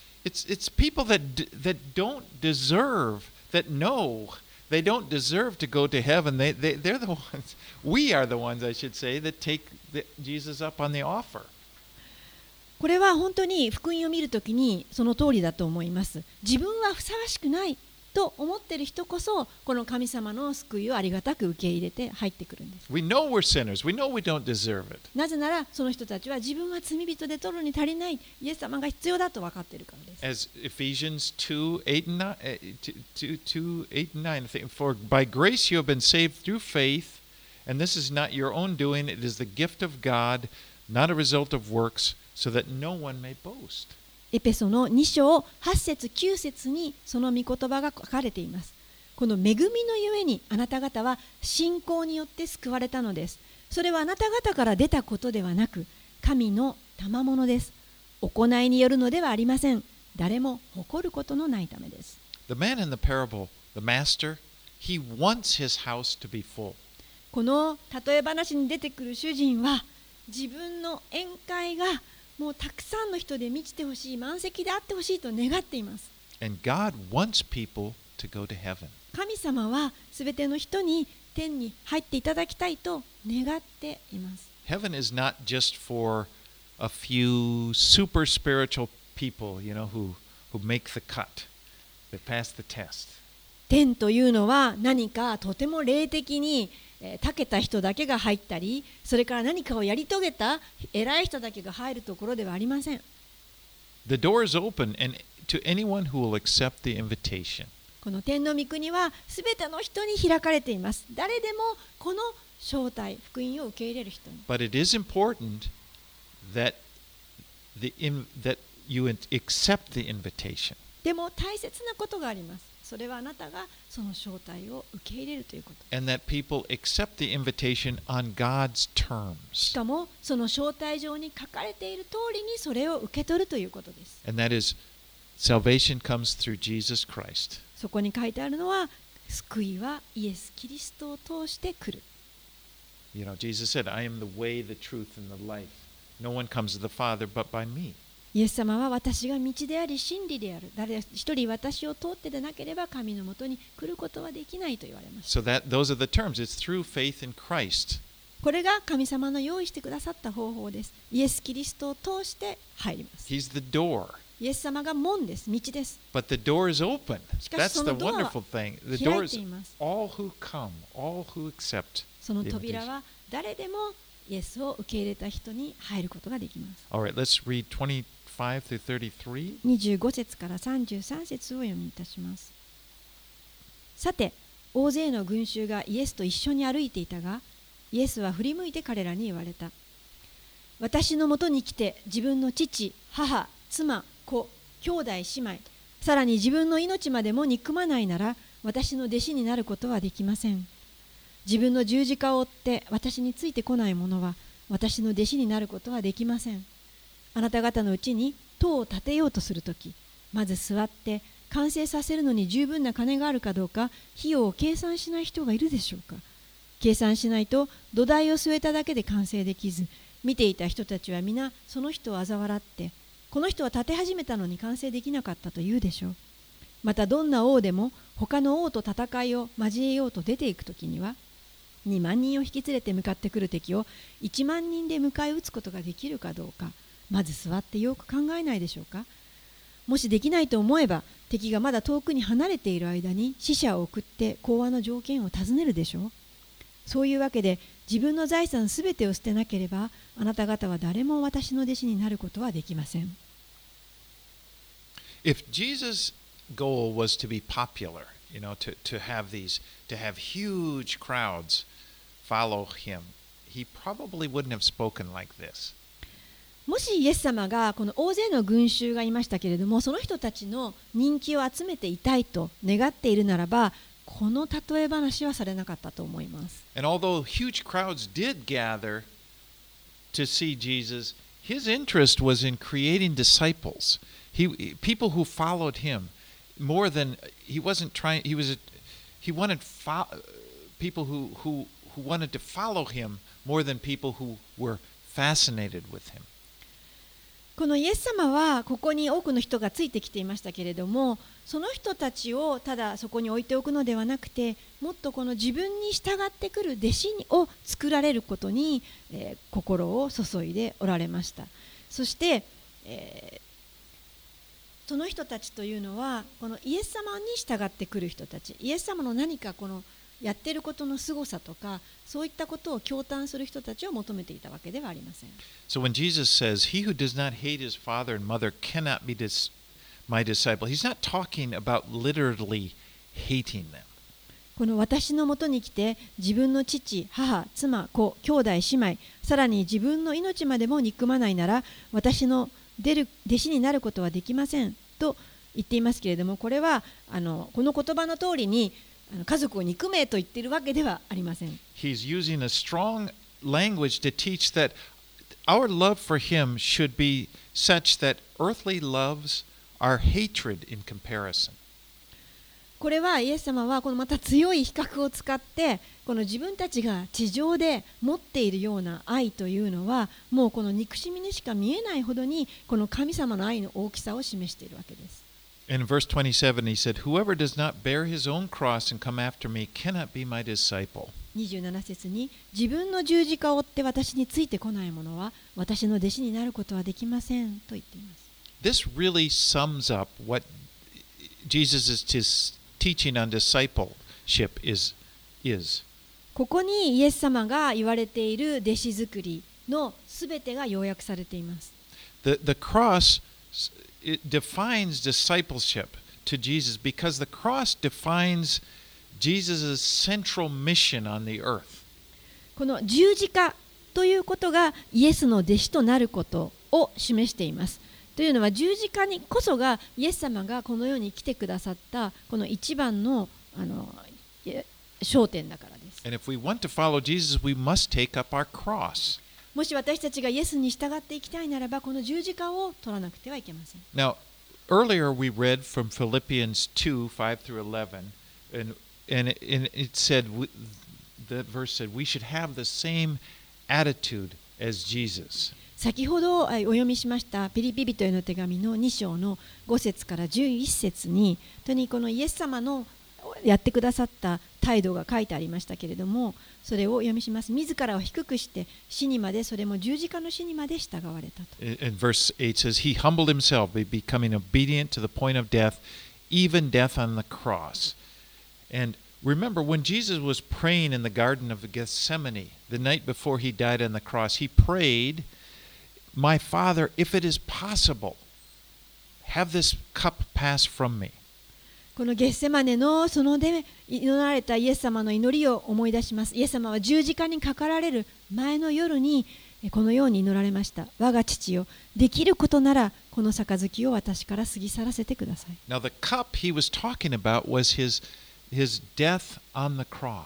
people that don't deserve, that know they don't deserve to go to heaven. They're the ones. We are the ones, I should say, that take Jesus up on the offer. これは本当に福音を見るときにその通りだと思います。自分はふさわしくないと思っている人こそ、この神様の救いをありがたく受け入れて入ってくるんです。 We know we're sinners. We know we don't deserve it. なぜならその人たちは自分は罪人で取るに足りない、イエス様が必要だと分かっているからです。 As Ephesians 2:8 and 9, for by grace you have been saved through faith, and this is not your own doing, it is the gift of God, not a result of works, so that no one may boast. エペソの2章8節9節にその御言葉が書かれています。この恵みのゆえにあなた方は信仰によって救われたのです。それはあなた方から出たことではなく、神の賜物です。行いによるのではありません。誰も誇ることのないためです。 The man in the parable, the master, he wants his house to be full. この例え話に出てくる主人は、自分の宴会がもうたくさんの人で満ちてほしい、満席であってほしいと願っています。 And God wants people to go to heaven. 神様はすべての人に天に入っていただきたいと願っています。 Heaven is not just for a few super spiritual people, you know, who make the cut, that pass the test. 天というのは何かとても霊的に長けた人だけが入ったり、それから何かをやり遂げた偉い人だけが入るところではありません。 The door is open and to anyone who will accept the invitation. この天の御国はすべての人に開かれています。誰でもこの招待、福音を受け入れる人に。 But it is important that you accept the invitation. でも大切なことがあります。それはあなたがその招待を受け入れるということ。 And that people accept the invitation on God's し terms. かもその招待状に書かれている通りにそれを受け取るということです。 And that is, salvation comes through Jesus Christ. そこに書いてあるのは、救いはイエス・キリストを通して来る。 You know, Jesus said, I am the way, the truth, and the life. No one comes to the Father but by me. イエス様は私が道であり真理である。誰一人私を通ってでなければ神のもとに来ることはできないと言われました。 So those are the terms. It's through faith in Christ. これが神様の用意してくださった方法です。イエス・キリストを通して入ります。 He's the door. イエス様が門です。道です。 But the door is open. しかし That's そ the のドアは wonderful thing. The 開 door い is ています。 all who come, all who accept その the 扉 invitation. は誰でもイエスを受け入れた人に入ることができます。 All right, let's read 25 through 33. 25節から33節を読みいたします。さて、大勢の群衆がイエスと一緒に歩いていたが、イエスは振り向いて彼らに言われた。私のもとに来て自分の父、母、妻、子、兄弟、姉妹、さらに自分の命までも憎まないなら、私の弟子になることはできません。自分の十字架を追って私についてこない者は、 私の弟子になることはできません。あなた方のうちに塔を建てようとするとき、まず座って完成させるのに十分な金があるかどうか、費用を計算しない人がいるでしょうか。計算しないと土台を据えただけで完成できず、見ていた人たちは皆その人を嘲笑って、この人は建て始めたのに完成できなかったと言うでしょう。またどんな王でも他の王と戦いを交えようと出ていくときには、2万人を引き連れて向かってくる敵を1万人で迎え撃つことができるかどうか、まず座ってよく考えないでしょうか。もしできないと思えば、敵がまだ遠くに離れている間に使者を送って講和の条件を尋ねるでしょう。そういうわけで、自分の財産すべてを捨てなければ、あなた方は誰も私の弟子になることはできません。 If Jesus' goal was to be popular, to have huge crowds follow him, he probably wouldn't have spoken like this. もしイエス様がこの大勢の群衆がいましたけれども、その人たちの人気を集めていたいと願っているならば、この例え話はされなかったと思います。 And although huge crowds did gather to see Jesus, his interest was in creating disciples. People who followed him more than he wasn't trying. He wanted people who wanted to follow him more than people who were fascinated with him. このイエス様はここに多くの人がついてきていましたけれども、その人たちをただそこに置いておくのではなくて、もっとこの自分に従ってくる弟子を作られることに、心を注いでおられました。そして、その人たちというのはこのイエス様に従ってくる人たち、イエス様の何かこのやっていることの凄さとか、そういったことを驚嘆する人たちを求めていたわけではありません。 So when Jesus says, "He who does not hate his father and mother cannot be my disciple," he's not talking about literally hating them. この私のもとに来て自分の父、母、妻、子、兄弟、姉妹、さらに自分の命までも憎まないなら、私の弟子になることはできませんと言っていますけれども、これはこの言葉の通りに家族を憎めと言っているわけではありません。 He's using a strong language to teach that our love for him should be such that earthly loves are hatred in comparison. これはイエス様はこのまた強い比較を使って、この自分たちが地上で持っているような愛というのは、もうこの憎しみにしか見えないほどにこの神様の愛の大きさを示しているわけです。 In verse 27, he said, "Whoever does not bear his own cross and come after me cannot be my disciple." 27節に、自分の十字架を追って私についてこない者は私の弟子になることはできませんと言っています。 This really sums up what Jesus' teaching on discipleship is. ここにイエス様が言われている弟子作りのすべてが要約されています。 The cross it defines discipleship to Jesus because the cross defines Jesus' central mission on the earth. この十字架ということがイエスの弟子となることを示しています。というのは十字架にこそがイエス様がこの世に来てくださったこの一番の焦点だからです。 And if we want to follow Jesus, we must take up our cross. もし私たちがイエスに従っていきたいならば、この十字架を取らなくてはいけません。 Now, earlier we read from Philippians 2, 5 through 11, and it said, that verse said, we should have the same attitude as Jesus. 先ほどお読みしましたピリピ人への手紙の2章の5節から11節に、本当にこのイエス様のやってくださった態度が書いてありましたけれども、それをお読みします。自らを低くして死にまで、それも十字架の死にまで従われたと。 And verse 8 says, He humbled himself, becoming obedient to the point of death, even death on the cross. And remember, when Jesus was praying in the Garden of Gethsemane, the night before he died on the cross, he prayed, My Father, if it is possible, have this cup pass from me. このゲッセマネの園で祈られたイエス様の祈りを思い出します。イエス様は十字架にかかられる前の夜にこのように祈られました。我が父よ、できることならこの杯を私から過ぎ去らせてください。 Now the cup he was talking about was his death on the cross.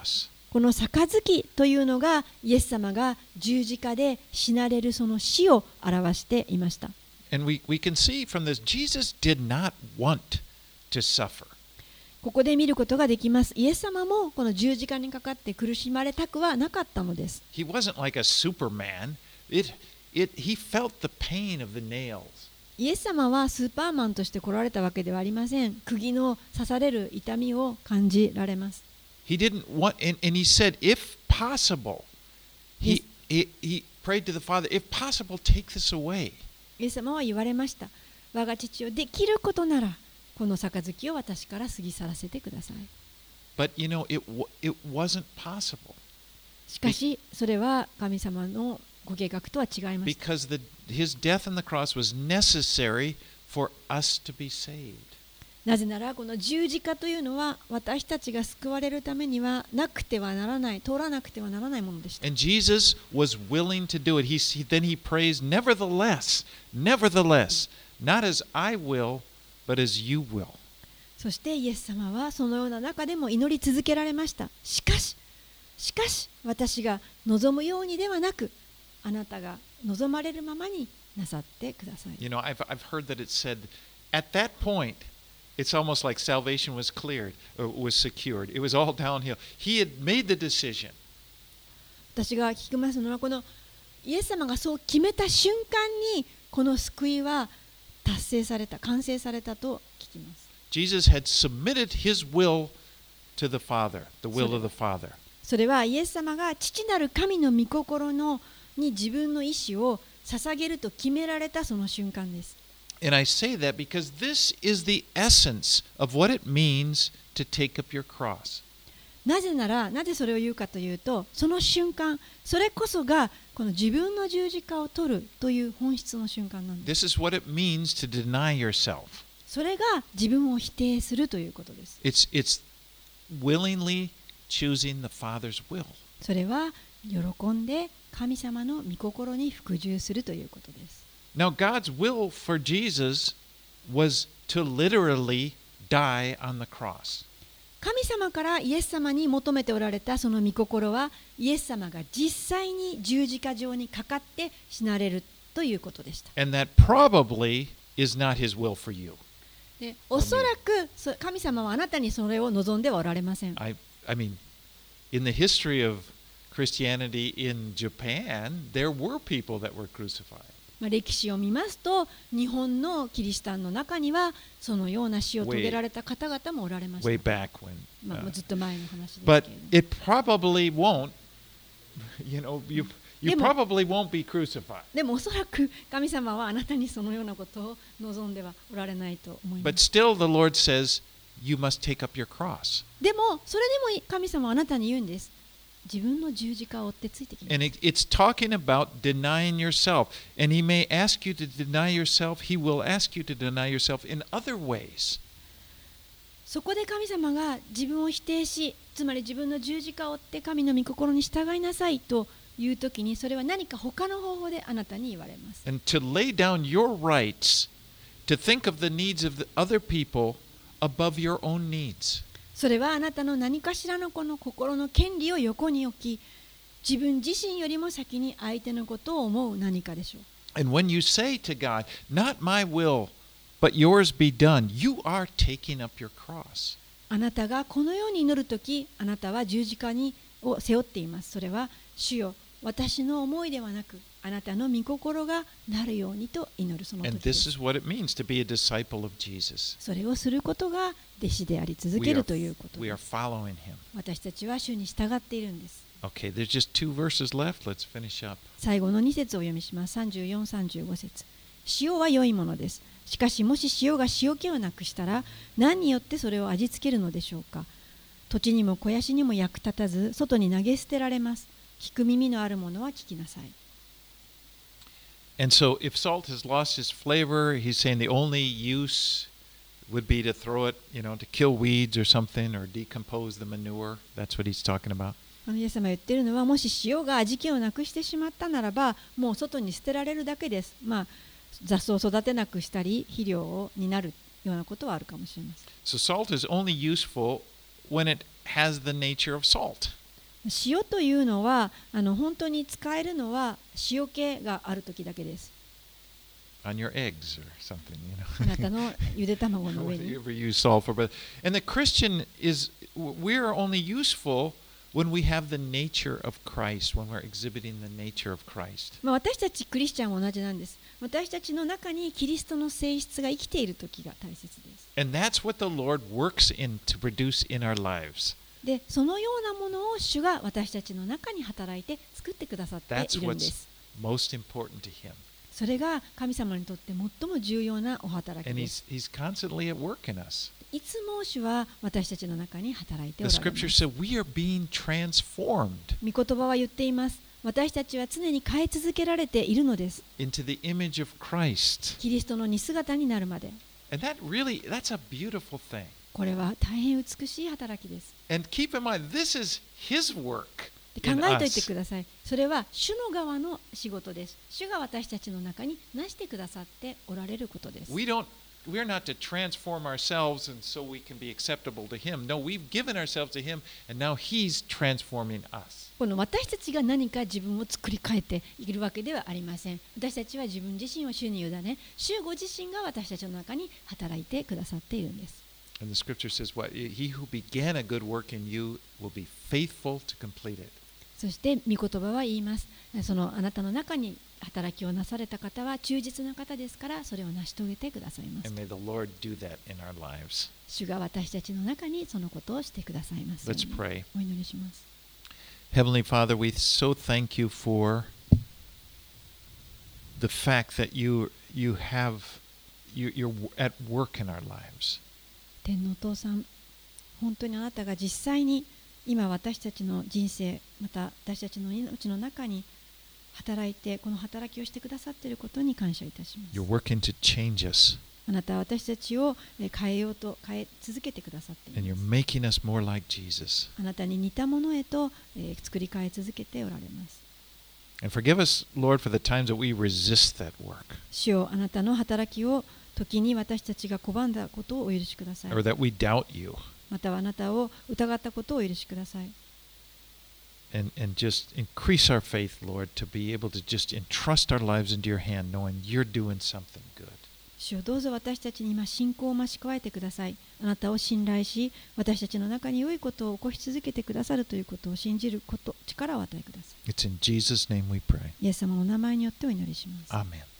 この杯というのがイエス様が十字架で死なれるその死を表していました。 And we can see from this, Jesus did not want to suffer. ここで見ることができます。イエス様もこの十字架にかかって苦しまれたくはなかったのです。 He wasn't like a Superman. He felt the pain of the nails. イエス様はスーパーマンとして来られたわけではありません。釘の刺される痛みを感じられます。 He didn't want, and he said, if possible, he prayed to the Father, if possible, take this away. イエス様は言われました。我が父よ、できることならこの杯を私から過ぎ去らせてください。 But you know, it wasn't possible. しかしそれは神様のご計画とは違いました。 Because his death on the cross was necessary for us to be saved. なぜならこの十字架というのは私たちが救われるためにはなくてはならない、通らなくてはならないものでした。 And Jesus was willing to do it. Then he prays, nevertheless, not as I will, but as you will. そしてイエス様はそのような中でも祈り続けられました。しかし私が望むようにではなく、あなたが望まれるままになさってください。 You know, I've heard that it said, at that point, it's almost like salvation was cleared, or was secured. It was all downhill. He had made the decision. 私が聞きますのは、このイエス様がそう決めた瞬間にこの救いは達成された、完成されたと聞きます。 Jesus had submitted his will to the Father, the will of the Father. それはイエス様が父なる神の御心に自分の意思を捧げると決められたその瞬間です。 And I say that because this is the essence of what it means to take up your cross. なぜそれを言うかというと、その瞬間、それこそがこの自分の十字架を取るという本質の瞬間なんです。 This is what it means to deny yourself. それが自分を否定するということです。 It's willingly choosing the Father's will. それは喜んで神様の御心に服従するということです。 Now, God's will for Jesus was to literally die on the cross. 神様からイエス様に求めておられたその御心は、イエス様が実際に十字架上にかかって死なれるということでした。 And that probably is not his will for you. で、おそらく神様はあなたにそれを望んではおられません。 I mean, in the history of Christianity in Japan, there were people that were crucified. 歴史を見ますと、日本のキリシタンの中にはそのような死を遂げられた方々もおられました。 Way back when. ずっと前の話ですけれ But ども。 it probably won't, you know, you probably won't be crucified. でもおそらく神様はあなたにそのようなことを望んではおられないと思いま But す。 still, the Lord says, you must take up your cross. でもそれでも神様はあなたに言うんです。自分の十字架を追ってついてきなさい。 And it's talking about denying yourself. And He may ask you to deny yourself. He will ask you to deny yourself in other ways. そこで神様が自分を否定し、つまり自分の十字架を追って神の御心に従いなさいというときに、それは何か他の方法であなたに言われます。 And to lay down your rights, to think of the needs of the other people above your own needs. それはあなたの何かしらのこの心の権利を横に置き、自分自身よりも先に相手のことを思う何かでしょう。 And when you say to God, not my will, but yours be done, you are taking up your cross. あなたがこのように祈るとき、あなたは十字架を背負っています。それは、主よ、私の思いではなく、あなたの御心がなるようにと祈るその時 And で this す。 is what it means to be a disciple of Jesus. それをすることが弟子であり続けるということ We で are す。 following Him. 私たちは主に従っているんです。 Okay, there's just 2 verses left. Let's finish up. 最後の2節をお読みします。34、35節。塩は良いものです。しかしもし塩が塩気をなくしたら、何によってそれを味付けるのでしょうか。土地にも肥やしにも役立たず、外に投げ捨てられます。聞く耳のあるものは聞きなさい。 And so if salt has lost its flavor, he's saying the only use would be to throw it, you know, to kill weeds or something or decompose the manure. That's what he's talking about. イエス様が言っているのは、もし塩が味気をなくしてしまったならば、もう外に捨てられるだけです。雑草を育てなくしたり、肥料になるようなことはあるかもしれません。 So salt is only useful when it has the nature of salt. 塩というのは本当に使えるのは塩気がある時だけです。 On your eggs or something, あなたのゆで卵の上に。 Whatever you use salt for. And the Christian is, we're only useful when we have the nature of Christ, when we're exhibiting the nature of Christ. 私たちクリスチャンも同じなんです。私たちの中にキリストの性質が生きている時が大切です。 And that's what the Lord works in to produce in our lives. で、そのようなものを主が私たちの中に働いて作ってくださっているんです。 Most important to Him. それが神様にとって最も重要なお働き And です。 He's constantly at work in us. いつも主は私たちの中に働いてお The られま scripture す。 said we are being transformed 御言葉は言っています。私たちは常に変え続けられているのです。 into the image of Christ. キリストの似姿になるまで。 And that's a beautiful thing. これは大変美しい働きです。 And keep in mind, this is His work 考 in えておいて us. ください。それは主の側の仕事です。主が私たちの中になしてくださっておられることです。 We're not to transform ourselves and so we can be acceptable to Him. No, we've given ourselves to Him and now He's transforming us. この私たちが何か自分を作り変えているわけではありません。私たちは自分自身を主に委ね、主ご自身が私たちの中に働いてくださっているんです。 And the scripture says, what? He who began a good work in you will be faithful to complete it. そして御言葉は言います。そのあなたの中に働きをなされた方は忠実な方ですから、それを成し遂げてくださいます。 And may the Lord do that in our lives. 主が私たちの中にそのことをしてくださいますように。 Let's pray. お祈りします。 Heavenly Father, we so thank you for the fact that you're at work in our lives. 天のお父さん、本当にあなたが実際に今私たちの人生、また私たちの命の中に働いて、この働きをしてくださっていることに感謝いたします。 You're working to change us, あなたは私たちを変え続けてくださってい and ま you're す。 making us more like Jesus. あなたに似たものへと作り変え続けておられます。 And forgive us, Lord, for the times that we resist that work, 主よ、あなたの働きを時に私たちが拒んだことをお許しください。 or that we doubt you, またはあなたを疑ったことをお許しください。 and just increase our faith, Lord, to be able to just entrust our lives into your hand, knowing you're doing something good. 主よ、どうぞ私たちに今信仰を増し加えてください。あなたを信頼し、私たちの中に良いことを起こし続けてくださるということを信じること、力を与えください。 It's in Jesus' name we pray. イエス様のお名前によってお祈りします。 Amen.